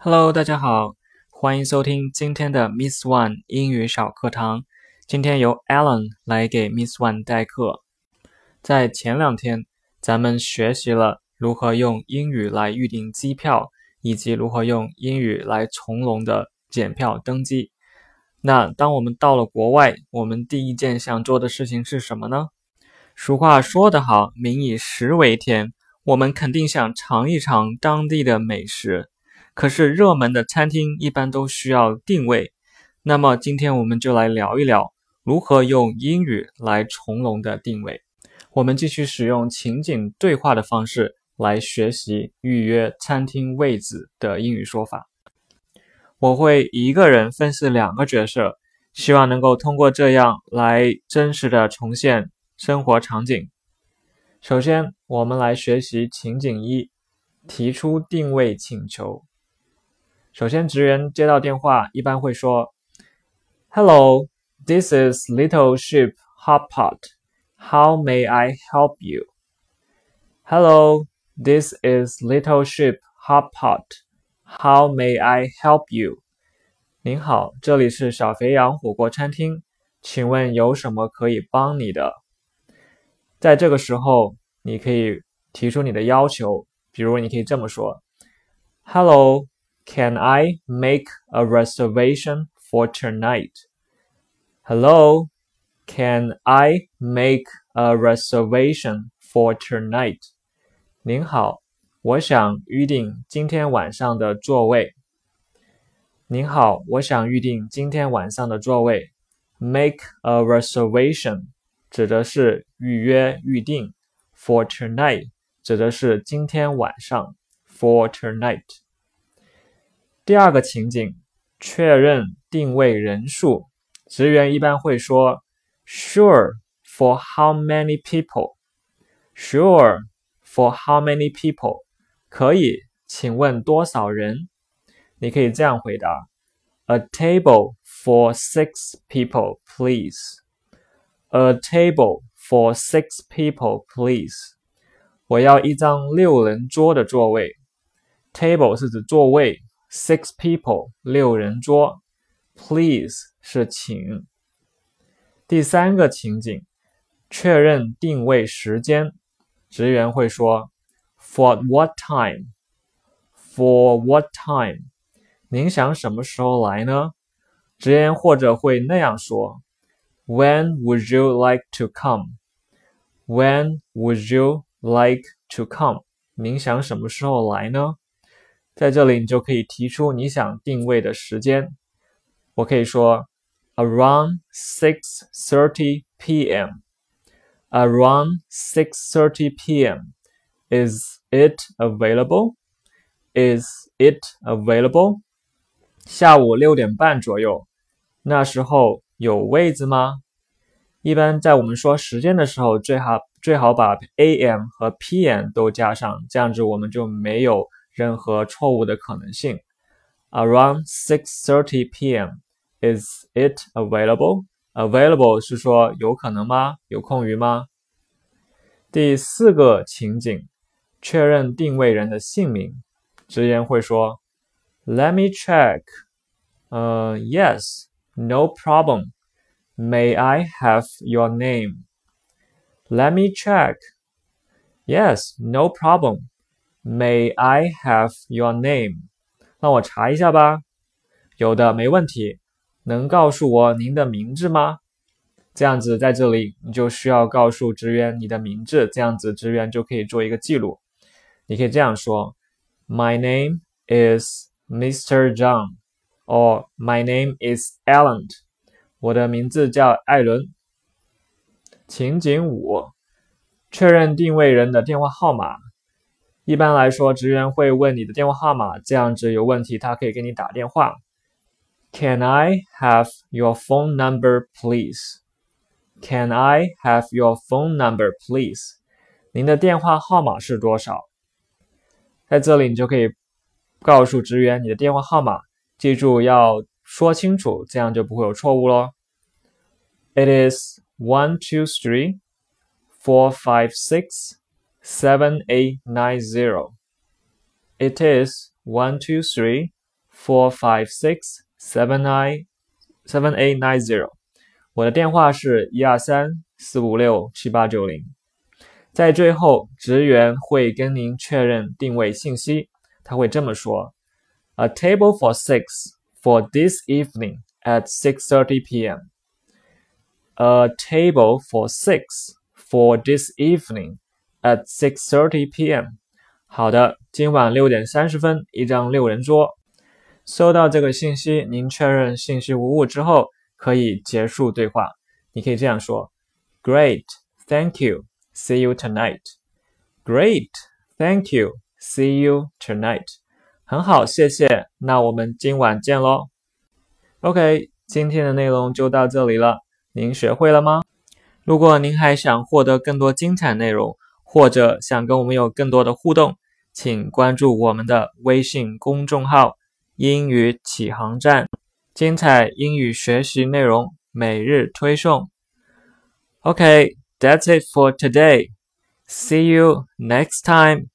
Hello，大家好，欢迎收听今天的 Miss One 英语小课堂。今天由 Alan 来给 Miss One 代课。在前2天，咱们学习了如何用英语来预订机票，以及如何用英语来从容的检票登机。那当我们到了国外，我们第一件想做的事情是什么呢？俗话说得好，民以食为天，我们肯定想尝一尝当地的美食。可是热门的餐厅一般都需要定位，那么今天我们就来聊一聊如何用英语来从容的定位。我们继续使用情景对话的方式来学习预约餐厅位置的英语说法。我会一个人分饰2个角色，希望能够通过这样来真实的重现生活场景。首先，我们来学习情景1，提出定位请求。首先，职员接到电话一般会说 Hello, this is Little Sheep Hot Pot. How may I help you? Hello, this is Little Sheep Hot Pot. How may I help you? 您好，这里是小肥羊火锅餐厅，请问有什么可以帮你的？在这个时候，你可以提出你的要求，比如你可以这么说 Hello,Can I make a reservation for tonight? Hello, can I make a reservation for tonight? 您好，我想预订今天晚上的座位。您好，我想预订今天晚上的座位。Make a reservation 指的是预约预订 ，for tonight 指的是今天晚上 ，for tonight。第二个情景，确认定位人数，职员一般会说 Sure, for how many people? Sure, for how many people? 可以，请问多少人？你可以这样回答 A table for 6 people, please. A table for 6 people, please. 我要一张6人桌的座位。Table 是指座位。6 people, 6人桌 Please 是请。第3个情景，确认定位时间，职员会说 For what time? For what time? 您想什么时候来呢？职员或者会那样说 When would you like to come? When would you like to come? 您想什么时候来呢？在这里你就可以提出你想定位的时间。我可以说 Around 6:30 p.m. Around 6:30 p.m. Is it available? Is it available? 下午6点半左右，那时候有位子吗？一般在我们说时间的时候，最好把 AM 和 PM 都加上，这样子我们就没有任何错误的可能性。Around 6:30 p.m. Is it available? Available 是说有可能吗？有空余吗？第4个情景，确认定位人的姓名，职员会说 Let me check. Yes, no problem. May I have your name? Let me check. Yes, no problem.May I have your name? 让我查一下吧。有的，没问题。能告诉我您的名字吗？这样子在这里你就需要告诉职员你的名字，这样子职员就可以做一个记录。你可以这样说 My name is Mr. John or My name is Alan. 我的名字叫艾伦。情景5，确认定位人的电话号码。一般来说，职员会问你的电话号码，这样子有问题他可以给你打电话。Can I have your phone number, please? Can I have your phone number, please? 您的电话号码是多少？在这里你就可以告诉职员你的电话号码，记住要说清楚，这样就不会有错误咯。It is 123 456 7890. It is 123 456-7890。我的电话是123-456-7890。在最后，职员会跟您确认定位信息，他会这么说 ：A table for 6 for this evening at 6:30 p.m. A table for 6 for this evening at 6:30 p.m. 好的，今晚6点30分，一张6人桌。收到这个信息，您确认信息无误之后，可以结束对话。你可以这样说 ：Great, thank you. See you tonight. Great, thank you. See you tonight. 很好，谢谢。那我们今晚见咯。OK， 今天的内容就到这里了。您学会了吗？如果您还想获得更多精彩内容，或者想跟我们有更多的互动，请关注我们的微信公众号英语启航站，精彩英语学习内容每日推送。Okay, that's it for today. See you next time.